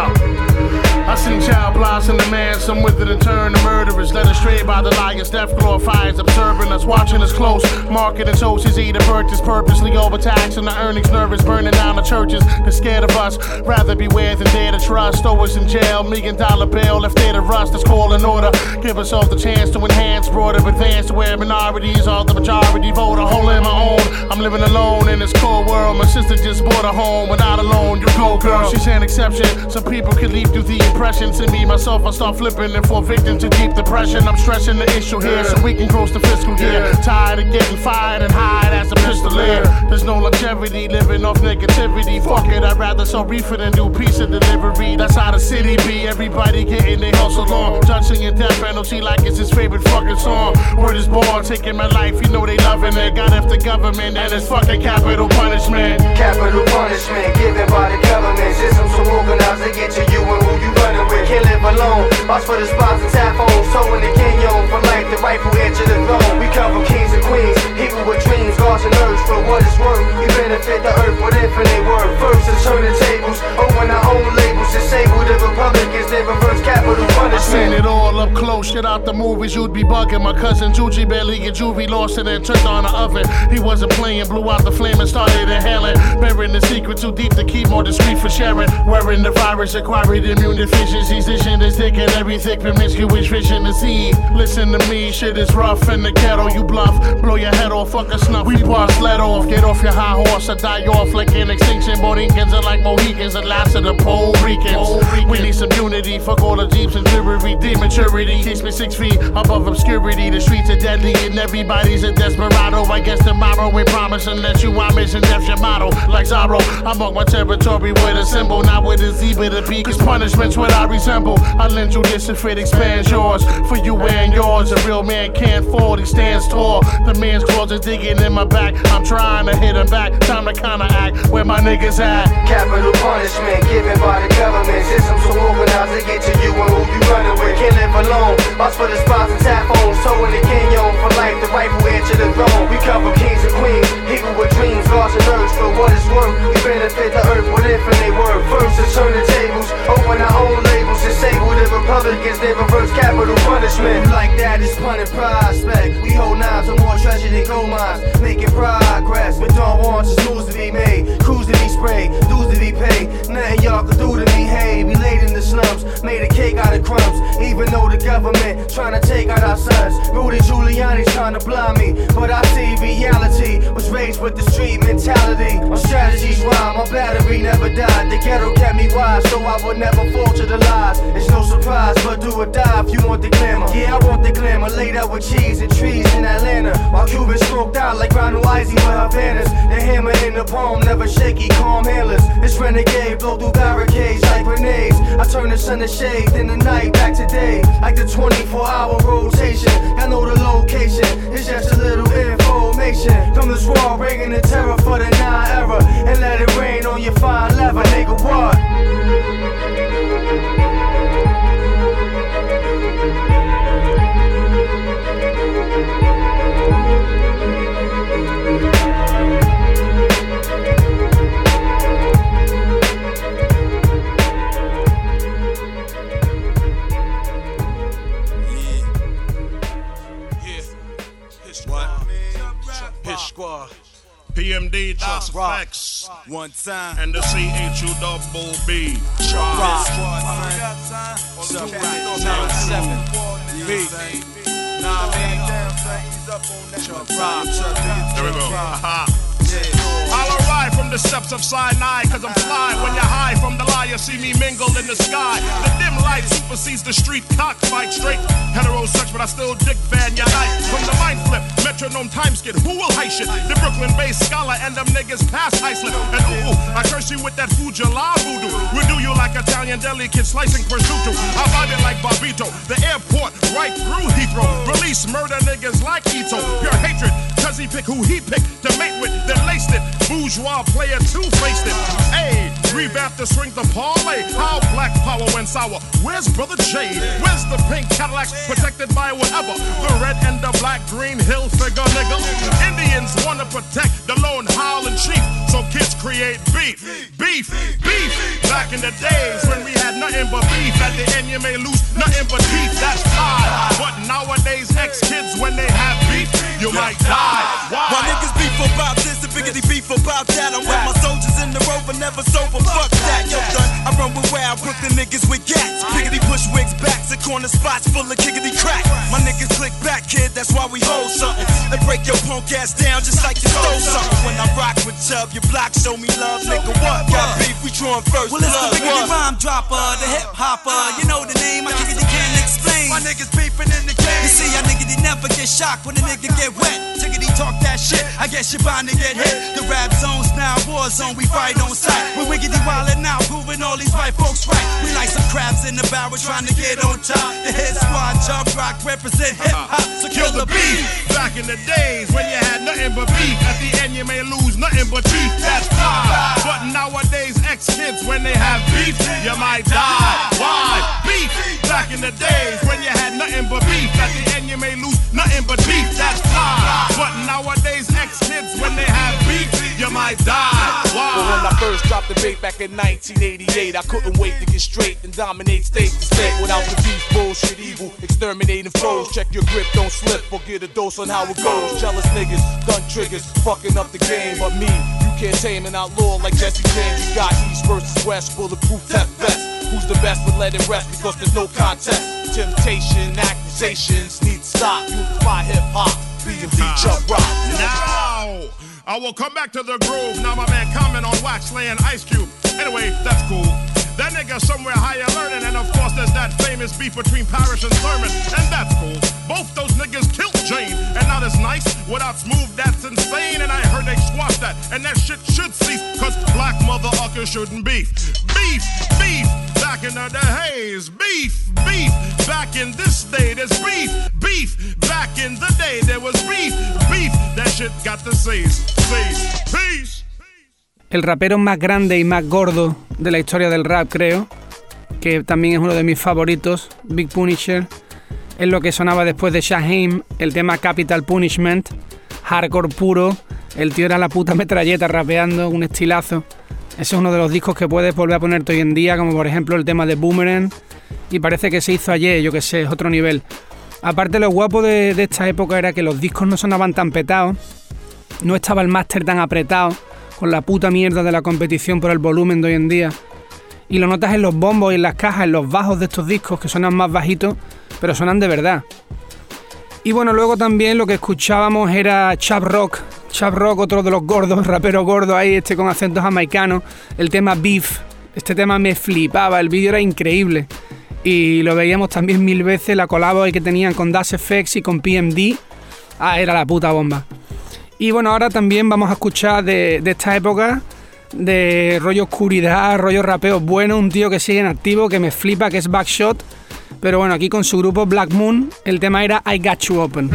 I seen child blossom the man, some with it and turn to murderers, led astray by the liars. Death glorifies, observing us, watching us close. Marketing socials, either purchase purposely overtaxing the earnings, nervous, burning down the churches. They're scared of us, rather beware than dare to trust. Throw us in jail, million dollar bill, left there to rust. Let's call an order, give us all the chance to enhance, broader advance to where minorities are the majority voter. Holding my own, I'm living alone in this cold world. My sister just bought a home, without a loan. You go, girl, she's an exception. Some people can leave through the impression. To me, myself, I start flipping and fall victim to deep depression. I'm stressing the issue here so we can close the fiscal year. Tired of getting fired and hired as a pistolier. There's no longevity living off negativity. Fuck it, I'd rather sell reefer than do pizza delivery. That's how the city be. Everybody getting their hustle on. Judging a death penalty like it's his favorite fucking song. Word is born, taking my life, you know they loving it. Got after government and it's fucking capital punishment.
Capital punishment given by the government. System so organized to get to you and who you running with. Can't live alone. Watch for the spots and tap phones. Towing the canyon for life, the rightful heir to the throne. We come from kings and queens, people with dreams, gods and earth. For what it's worth, we benefit the earth with infinite worth. First to turn the tables, open our own labels. Disable the Republicans, then reverse capital punishment.
I seen it all up close, shit out the movies, you'd be bugging. My cousin Juji barely get juvie, lost it and turned on the oven. He wasn't playing, blew out the flame and started inhaling. Burying the secret too deep to keep more discreet for sharing. Wearing the virus, acquired immune deficiencies. This shit is thick and every thick promiscuous fish in the sea. Listen to me, shit is rough in the ghetto, you bluff. Blow your head off, fuck a snuff. We bust, let off, get off your high horse or die off like an extinction. Borincans are like Mohicans, the last of the Puerto Ricans. We need some unity, fuck all the jeeps and jewelry. Dematurity keeps me six feet above obscurity. The streets are deadly and everybody's a desperado. I guess tomorrow we promise unless you are missing death your motto. Like Zorro, I mark my territory with a symbol, not with a Z but a B. Cause punishment's what I resemble. I lend you this if it expands yours. For you and yours, a real man can't fall, he stands tall. The man's claws are digging in my back. I'm trying to hit him back, time to counteract. Where my niggas at?
Capital punishment given by the government. System so organized to get to you and who you running with. Can't live alone. Watch for the spots and tap phones. Towing the canyon for life, the rightful heir to the throne. We come from kings and queens, people with dreams, gods and earth. For what it's worth, we benefit the earth with infinite worth. First to turn the tables, open our own labels. Disable the Republicans, then reverse capital punishment. Like that is pun and prospect. We hold knives on more treasure than gold mines, making progress. But don't want just moves to be made, crews to be sprayed, dues to be paid. Nothing y'all can do to me, hey. We laid in the slums, made a cake out of crumbs. Even though the government trying to take out our sons. Rudy Giuliani's trying to blind me, but I see reality. Was raised with the street mentality. My strategies rhyme, my battery never died. The ghetto kept me wise, so I would never fall to the lies. It's no surprise, but do or die if you want the glamour. Yeah, I want the glamour, laid out with cheese and trees in Atlanta. While Cuban stroked out like Ronald Isley with Havanas. The hammer in the palm, never shaky, calm handlers. This renegade blow through barricades like grenades. I turn the sun to shade, then the night back to day. Like the twenty-four hour rotation. I know the location, it's just a little information. From this wall, bringing the terror for the nine era. And let it rain on your fine leather, nigga, what?
Flex. One time. And the C H U double B. Rock.
Seven. B. Nah, man.
There we go. Aha. I'll arrive from the steps of Sinai, cause I'm fly. When you're high from the lie, you see me mingle in the sky. The dim light supersedes the street cockfight. Straight heterosex, but I still dick van your night. From the mind flip, metronome time skid, who will high shit? The Brooklyn-based scholar and them niggas pass high slip. And ooh, ooh, I curse you with that Fujala voodoo. We do you like Italian deli kid slicing prosciutto. I vibe it like Barbito, the airport right through Heathrow. Release murder niggas like Ito. Pure hatred, cause he pick who he pick to mate with, then laced it. Bourgeois player two-faced it. Hey, revamp the swing the parlay. How black power went sour. Where's Brother J? Where's the pink Cadillac protected by whatever? The red and the black green hill figure, nigga. Indians wanna protect the lone howling chief, so kids create beef, beef, beef. Back in the days when we had nothing but beef, at the end you may lose nothing but teeth. That's fine. But nowadays ex-kids when they have beef, you might die. Why?
Why niggas beef about this and biggity beef about that? I'm with my soldiers in the rover, never sober. Fuck that, yo, son. I run with wild Brooklyn niggas with gats. Piggity push wigs, backs, and corner spots full of kickity crack. My niggas click back, kid, that's why we hold something. They break your punk ass down just like you stole something. When I rock with Chubb, your block show me love, nigga. What? Got beef, we drawing first. Well, it's the biggity rhyme dropper, the hip hopper. You know the name, I kickity can't explain. My niggas beefing in the game. You see, I niggas never get shocked when a nigga get wet. Tickety talk that shit, I guess you're bound to get hit. The rap zone's now war zone, we fight on sight. We're wiggity wildin' out, proving all these white folks right. We like some crabs in the barrel trying to get on top. The hit squad, jump rock, represent hip hop, so kill the beef.
Back in the days when you had nothing but beef, at the end you may lose nothing but teeth. That's fine. But nowadays ex-kids when they have beef, you might die. Why? Beef. Back in the days when you had nothing but beef, at the end you may lose nothing but teeth. That's fine. But nowadays ex-kids when they have beef, you might die. Why?
But when I first dropped the bait back in nineteen eighty-eight, I couldn't wait to get straight and dominate state to state. Without the beef, bullshit, evil, exterminating foes. Check your grip, don't slip, or get a dose on how it goes. Jealous niggas, gun triggers, fucking up the game. But me, you can't tame an outlaw like Jesse James. You got East versus West, bulletproof test best. Who's the best, but let it rest because there's no contest. Temptation, accusations need to stop. Unify hip hop, B and B jump rock.
Now, I will come back to the groove. Now my man comment on Wax laying Ice Cube. Anyway, that's cool. That nigga somewhere higher learning, and of course there's that famous beef between Parrish and Thurman, and that's cool. Both those niggas killed Jane, and not as nice. Without smooth, that's insane, and I heard they squashed that, and that shit should cease, cause black motherfuckers shouldn't beef. Beef, beef, back in the days. Beef, beef, back in this day there's beef. Beef, back in the day there was beef. Beef, that shit got to cease. Cease, peace.
El rapero más grande y más gordo de la historia del rap, creo, que también es uno de mis favoritos, Big Punisher, es lo que sonaba después de Shaheem, el tema Capital Punishment, hardcore puro, el tío era la puta metralleta rapeando, un estilazo. Ese es uno de los discos que puedes volver a ponerte hoy en día, como por ejemplo el tema de Boomerang, y parece que se hizo ayer, yo que sé, es otro nivel. Aparte, lo guapo de, de esta época era que los discos no sonaban tan petados, no estaba el máster tan apretado, con la puta mierda de la competición por el volumen de hoy en día. Y lo notas en los bombos y en las cajas, en los bajos de estos discos, que suenan más bajitos, pero suenan de verdad. Y bueno, luego también lo que escuchábamos era Chap Rock. Chap Rock, otro de los gordos, rapero gordo ahí, este con acentos jamaicanos. El tema Beef. Este tema me flipaba, el vídeo era increíble. Y lo veíamos también mil veces, la colabo que tenían con Das F X y con P M D. Ah, era la puta bomba. Y bueno, ahora también vamos a escuchar de, de esta época, de rollo oscuridad, rollo rapeo bueno, un tío que sigue en activo, que me flipa, que es Backshot. Pero bueno, aquí con su grupo Black Moon, el tema era I Got You Open.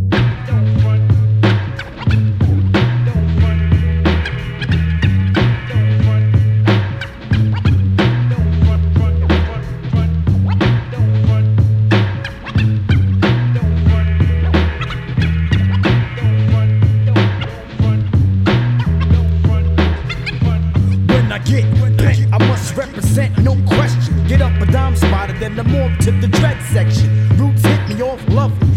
No question, get up a dime spotter, then the morph to the dread section. Roots hit me off lovely. Come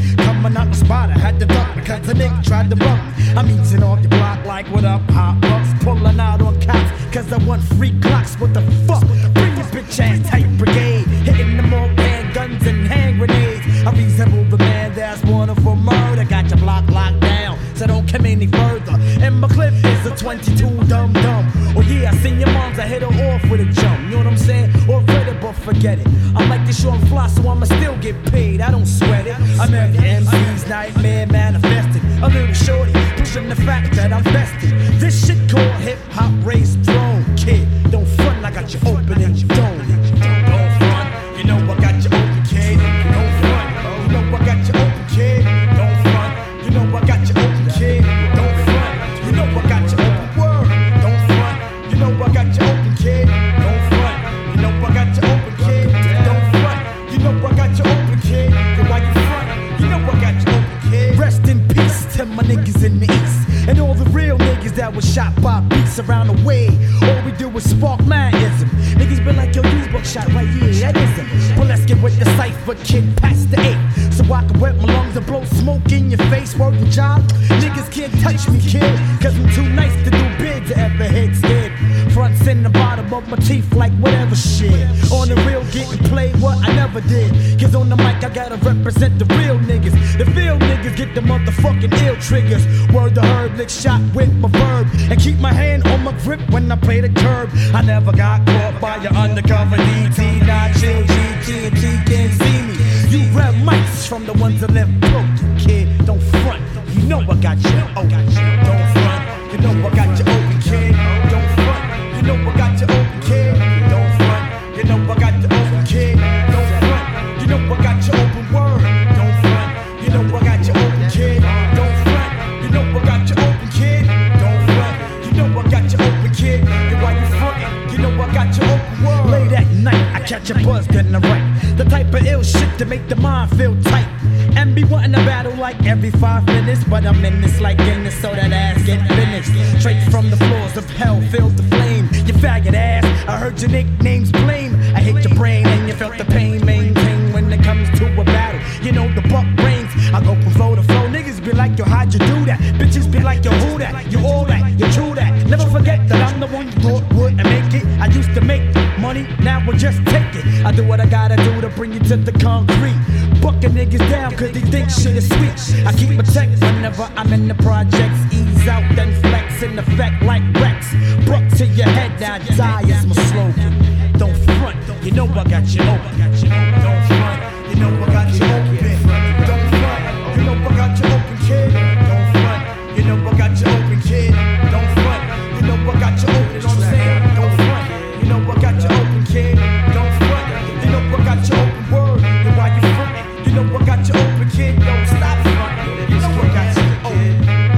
I'm a knuckle spotter, had to duck because the nigga tried to bump me. I'm eating off the block like what up, hot bucks, pulling out on cops, cause I want free clocks. What the fuck? Bring your bitch ass tight brigade, hitting them all hand guns and hand grenades. I resemble the man that's wanted for murder. Got your block locked down, so don't come any further. And my clip is a twenty-two dum dum. Oh yeah, I seen your moms, I hit her off with a jump. You know what I'm saying? Or read it, but forget it. I'm like the short fly, so I'ma still get paid. I don't sweat it. I'm every M C's nightmare manifested. A little shorty, pushing the fact that I'm vested. This shit called hip hop raised throne. Kid, don't front, I got you open and you don't. Don't front, you know I got you open, kid. Don't front, you know I got you open, kid. Don't front, you know I got you open, kid. Don't front, you know I got you open, word. Don't front, you know I got you open, kid. Don't front, you know I got you open, kid. Don't front, you know I got you open, kid. Then why you front, you know I got you open, kid. Rest in peace to my niggas in the east and all the real niggas that was shot by beats around the way. All we do is spark manism. Niggas been like, yo, these buckshot right here, that ism. But let's get with the cipher, kid, past the eight. So I can wet my lungs and blow smoke in your face. Working job, niggas can't touch me, kid. Cause I'm too nice to do big to ever hit dead. Fronts in the bottom of my teeth like whatever shit. On the real getting played what I never did. Cause on the mic I gotta represent the real niggas. The real niggas get the motherfucking ill triggers. Word to herb, lick shot with my verb. And keep my hand on my grip when I play the curb. I never got caught by your undercover D T. Not chill, G T and T can't see me. You grab mics from the ones that left broken, kid. Don't front, you know I got you open. Don't front, you know I got you open, kid. Don't front, you know I got you open, kid. Don't front, you know I got you open, kid. Don't front, you know I got you open, word. Don't front, you know I got you open, kid. Don't front, you know I got you open, kid. Don't front, you know I got you open, kid. And why you frontin', you know I got you open, word. Late at night, I catch a buzz getting the right. The type of ill shit to make the mind feel tight. And be wanting to battle like every five minutes. But I'm in this like Guinness, so that ass get finished. Straight from the floors of hell, filled the flame. You faggot ass, I heard your nicknames blame. I hate your brain and you felt the pain. Maintain when it comes to a battle. You know the buck brains, I go from flow to flow. Niggas be like, yo, how'd you do that? Bitches be like, yo, who that? You all that, you true that. Never forget that I'm the one you thought would and make it. I used to make money, now we'll just take it. I do what I gotta do to bring you to the concrete. Bucking niggas down cause they think shit is sweet. I keep my tech whenever I'm in the projects. Ease out then flex in effect like Rex. Buck to your head now, die is my slogan. Don't front, you know I got you open. Don't front, you know I got you open. Don't front, you know I got you open, kid. Don't front, you know I got you open, kid. Don't front, you know I got you open, you know what I'm saying? Don't front, you know I got you open, kid. Don't front, you know I got you open, word. Then why you frontin'? You know I got you open, kid. Don't stop frontin'. You know I got you open.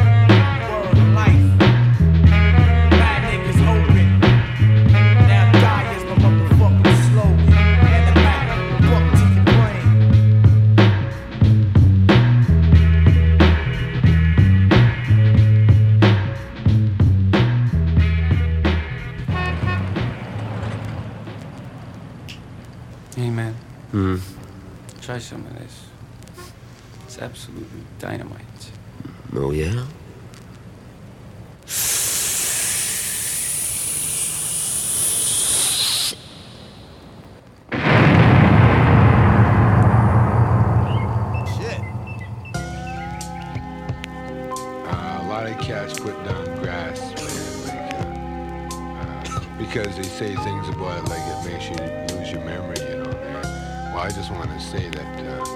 Word life. Bad niggas open. Now die is my motherfucking slogan. And the back, buck to your brain.
Hey man,
Mm.
try some of this. It's absolutely dynamite.
Oh, yeah?
Uh, a lot of cats put down grass, man, like, uh, uh, because they say things about it like it makes you lose your memory, you know, man. Well, I just want to say that uh,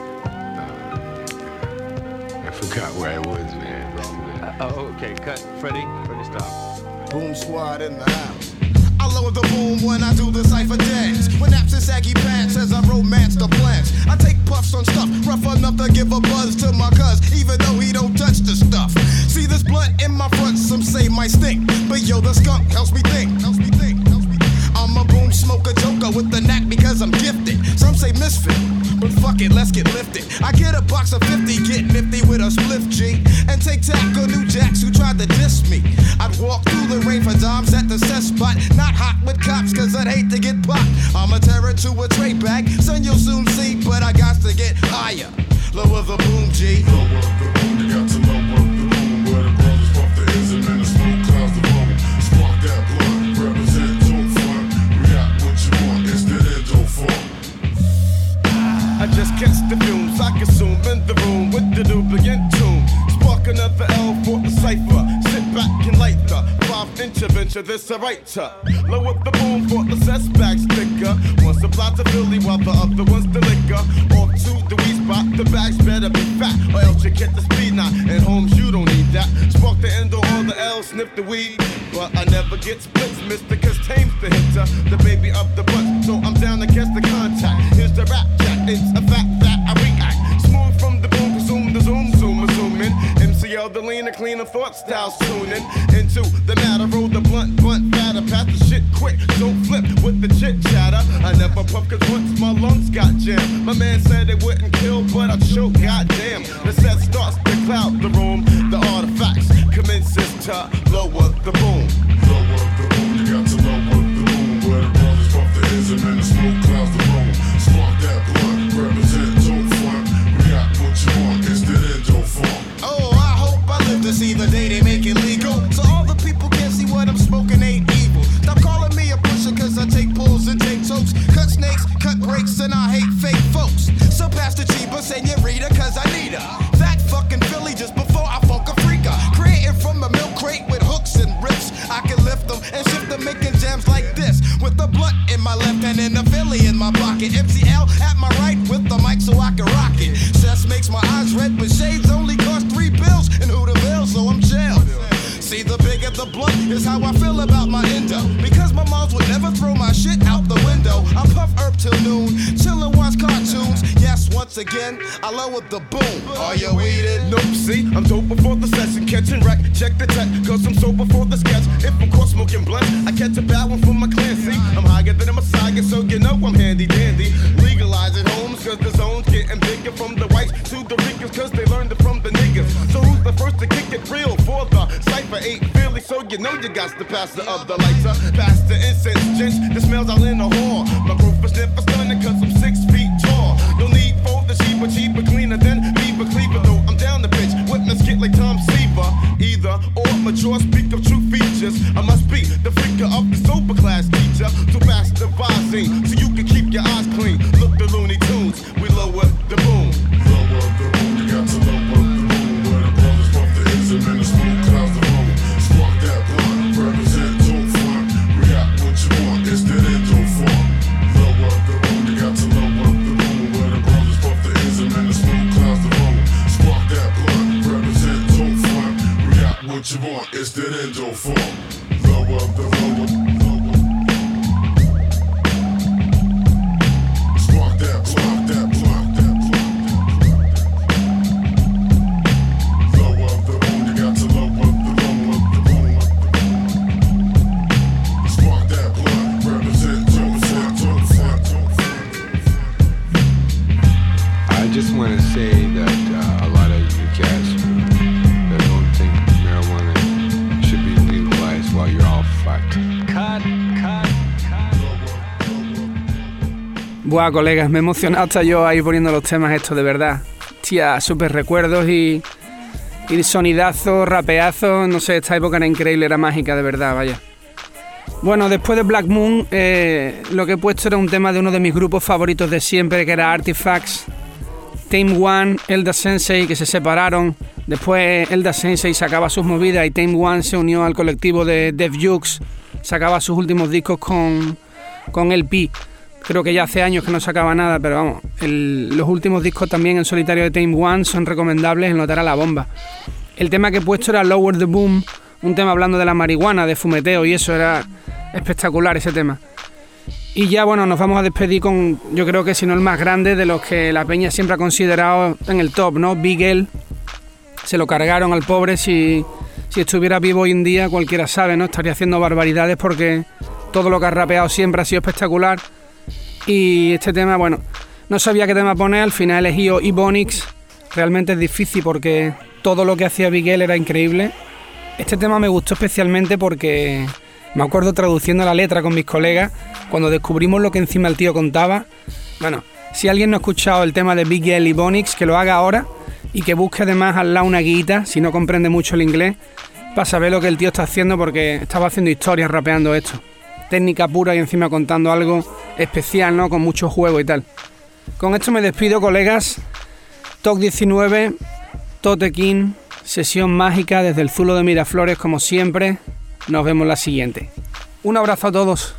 uh, I forgot where I was, man.
Uh, oh, okay, cut. Freddie, Freddie, stop.
Boom squad in the house.
I lower the boom when I do the cypher dance. With naps and saggy pants as I romance the plants. I take puffs on stuff, rough enough to give a buzz to my cuz, even though he don't touch the stuff. See this blunt in my front, some say might stink, but yo, the skunk helps me think. Helps me think. Helps me think. I'm a boom smoker joker with the knack because I'm gifted. Some say misfit, but fuck it, let's get lifted. I get a box of fifty, get nifty with a spliff G, and take tackle new jacks who tried to diss me. I'd walk through the rain for dimes at the cess spot, not hot with cops cause I'd hate to get popped. I'm a terror to a tray bag, son you'll soon see, but I got to get higher. Lower the boom, G. Lower the boom, you got to lower the boom. Where the brothers puff the ism and the smoke clouds the room. Spark that blunt, represent, don't front. We got what you want, it's the end, don't front.
I just catch the fumes I consume in the room with the lubricant tune. Spark another L for the cipher. Sit back and light the five inch adventure. This a writer. Lower the boom for the cess bag sticker. One supply to Philly while the other one's the liquor. Off to the weed spot, the bags better be fat, or else you get the speed knot. And homes you don't need that. Spark the endo or the L, sniff the weed. But I never get splits, mister, cause tame's the hitter, the baby of the bunch. So I'm down to catch the contact. Here's the rap jack. It's a fact that I react. Smooth from the boom, consume the zoom, zoom, zooming. M C L, the leaner, cleaner thought styles tuning into the matter. Roll the blunt, blunt, fatter. Pass the shit quick, don't flip with the chit chatter. I never puff cause once my lungs got jammed. My man said it wouldn't kill, but I choke, goddamn. The set starts to cloud the room. The artifacts commences to lower the boom.
Lower the boom, you got to lower the boom. Where the brothers puff the ism and the smoke clouds the room. Spark that blunt, represent, don't front. We got what you want, it's the end, don't front. Oh, I hope I live to see the day they make it legal. So all the people can see what I'm smoking ain't evil. Stop calling me a pusher cause I take pulls and take tokes. Cut snakes, cut breaks, and I hate fake folks. So pass the Chiba, senorita, cause I need her. That fucking Philly just before I funk a freaker. Creating from a milk crate with hooks and rips. I can lift them and shift them, making jams like this. With a blunt in my left hand and a Philly in my pocket. M C L at my right with the mic so I can rock it. Cess makes my eyes red, but shades only cost three bills. And who the bill, so I'm jailed. See, the bigger the blunt is how I feel about my endo. Because my moms would never throw my shit out the window. I puff herb till noon, chillin' watch cartoons. Yes, once again, I lowered the boom. Are you weeded?
Nope, see, I'm dope before the session. Catching wreck, check the tech, cause I'm sober for the sketch. If I'm caught smoking blunt, I catch a bad one from my clan. See, I'm higher than a Messiah, so you know I'm handy dandy. Legalizing homes, cause the zone's getting bigger. From the whites to the Ricans, cause they learned it from the niggas. So who's the first to kick it real for the cipher? Ain't Philly, so you know you got the pastor of the lighter. Pass the incense, gents, the smells all in the hall. My group is never stunning cause I'm six feet tall. No need for the cheaper, cheaper, cleaner than Beaver Cleaver. Though I'm down the pitch, witness get like Tom Seaver. Either or, mature, speak of true features. I must be the freaker of the sober class teacher. So pass the visine, so you can keep your eyes clean. Look the Looney Tunes, we lower the boom.
Lower the boom, you got to lower the boom. Where the brothers puff the ism and the smoke clouds the room. Spark that blunt, represent, don't front. We got what you want, it's the end, don't front. Lower the boom, you got to lower the boom. Where the brothers puff the ism and the smoke clouds the room. Spark that blunt, represent, don't front. We got what you want, it's the end, don't front. Lower the lower, lower. Spark that blunt, that blunt, that blunt. Lower the boom, you got to lower the lower the boom. Spark that blunt, represent, don't front, don't front, don't front.
I just want to say that uh, a lot of you cats that don't think marijuana should be legalized while you're all fucked. Cut, cut, cut.
Buah, colegas, me he emocionado hasta yo ahí poniendo los temas estos, de verdad. Tía, súper recuerdos y, y sonidazos, rapeazos, no sé, esta época era increíble, era mágica, de verdad, vaya. Bueno, después de Black Moon, eh, lo que he puesto era un tema de uno de mis grupos favoritos de siempre, que era Artifacts. Tame One, Elda Sensei, que se separaron. Después Elda Sensei sacaba sus movidas y Tame One se unió al colectivo de Def Jux. Sacaba sus últimos discos con, con L P. Creo que ya hace años que no sacaba nada, pero vamos, el, los últimos discos también en solitario de Tame One son recomendables, el notar a la bomba. El tema que he puesto era Lower the Boom, un tema hablando de la marihuana, de fumeteo, y eso era espectacular, ese tema. Y ya, bueno, nos vamos a despedir con, yo creo que si no el más grande de los que la peña siempre ha considerado en el top, ¿no? Big L. Se lo cargaron al pobre. Si, si estuviera vivo hoy en día, cualquiera sabe, ¿no? Estaría haciendo barbaridades porque todo lo que ha rapeado siempre ha sido espectacular. Y este tema, bueno, no sabía qué tema poner, al final he elegido Ebonix. Realmente es difícil porque todo lo que hacía Big L era increíble. Este tema me gustó especialmente porque me acuerdo traduciendo la letra con mis colegas, cuando descubrimos lo que encima el tío contaba. Bueno, Si alguien no ha escuchado el tema de Big L y Bonix, que lo haga ahora y que busque además al lado una guita, si no comprende mucho el inglés, para saber lo que el tío está haciendo, porque estaba haciendo historias rapeando esto. Técnica pura y encima contando algo especial, ¿no? Con mucho juego y tal. Con esto me despido, colegas. Top diecinueve, Tote King, sesión mágica desde el Zulo de Miraflores, como siempre. Nos vemos la siguiente. Un abrazo a todos.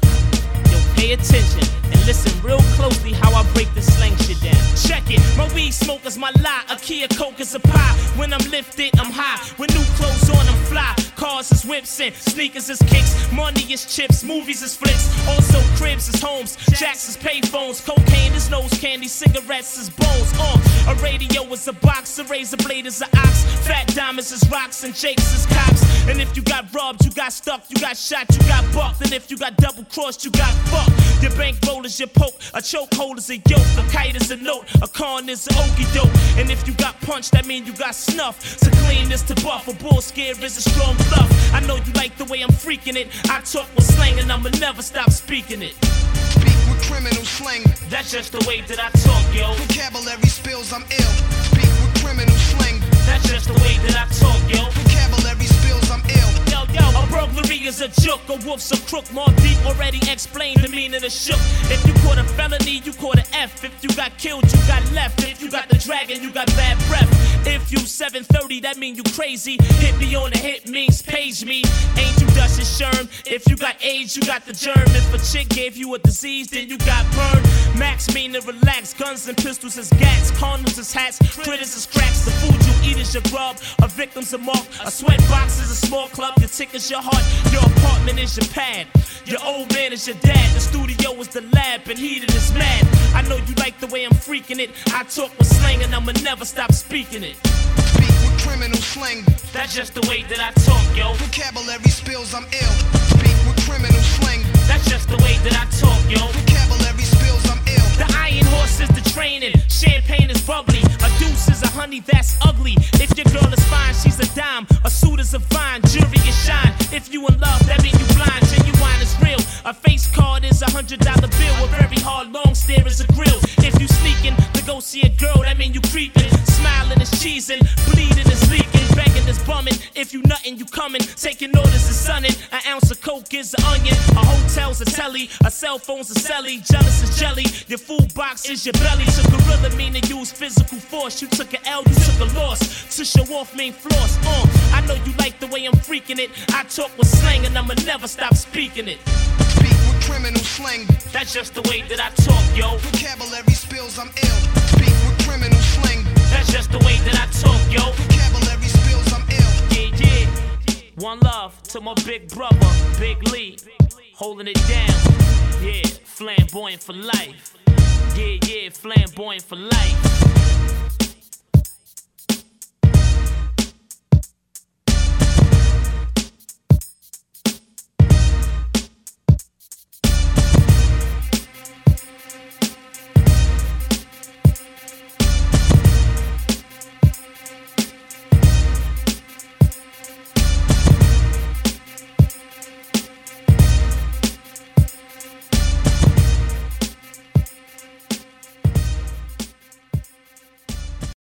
Pay attention and listen real closely how I break this slang shit down. Check it, my weed smoke is my lie. A key of coke is a pie. When I'm lifted, I'm high. With new clothes on, I'm fly. Cars is whips and sneakers is kicks. Money is chips, movies is flicks. Also cribs is homes, jacks is payphones. Cocaine is nose candy, cigarettes is bones. Uh, a radio is a box, a razor blade is an ox. Fat diamonds is rocks and jakes is cops. And if you got robbed, you got stuck, you got shot, you got bucked. And if you got double crossed, you got fucked. Your bankroll is your poke, a chokehold is a yoke, a kite is a note, a con is an okie doke. And if you got punched, that mean you got snuff. So clean is to buff, a bull scare is a strong bluff. I know you like the way I'm freaking it. I talk with slang and I'ma never stop speaking it.
Speak with criminal slang.
That's just the way that I talk, yo.
Vocabulary spills, I'm ill. Speak with criminal slang.
That's just the way that I talk, yo.
Vocabulary spills, I'm ill.
Yo, yo, a burglary is a joke, a wolf's a crook. More deep already explained the meaning of shook. If you caught a felony, you caught an F. If you got killed, you got left. If you got the dragon, you got bad breath. If you seven thirty, that mean you crazy. Hit me on the hit means page me. Ain't you dust and sherm? If you got AIDS, you got the germ. If a chick gave you a disease, then you got burned. Max mean to relax. Guns and pistols is gats. Condoms is hats. Critters is cracks. The food you eat is your grub. A victim's a mark. A sweat box is a small club. Your tick is your heart. Your apartment is your pad. Your old man is your dad. The studio is the lab. And heated is mad. I know you like the way I'm freaking it. I talk with slang and I'ma never stop speaking it.
Speak with criminal slang.
That's just the way that I talk, yo.
Vocabulary spills, I'm ill. Speak with criminal slang.
That's just the way that I talk, yo.
Vocabulary spills, I'm ill.
The iron horse is the training. Champagne is bubbly. A deuce is a honey that's ugly. If your girl is fine, she's a dime. A suit is a vine. Jewelry is shine. If you in love, that mean you blind. Genuine is real. A face card is a hundred dollar bill. A very hard long stare is a grill. If you sneaking to go see a girl, that mean you creeping. Smiling is cheesing. Bleeding is leaking. Begging is bumming. If you nuttin', you coming. Taking orders is sunning. An ounce of coke is an onion. A hotel's a telly. A cell phone's a celly. Jealous is jelly. Your food box is your belly. To gorilla mean to use physical force. You took an L, you took a loss. To show off mean floss. Uh, I know you like the way I'm freaking it. I talk with slang and I'ma never stop speaking it.
Speak with criminal slang.
That's just the way that I talk, yo.
Vocabulary spills, I'm ill. Speak with criminal slang.
That's just the way that I talk, yo.
Vocabulary spills, I'm ill.
Yeah, yeah. One love to my big brother, Big Lee. Holding it down. Yeah, flamboyant for life. Yeah, yeah, flamboyant for life.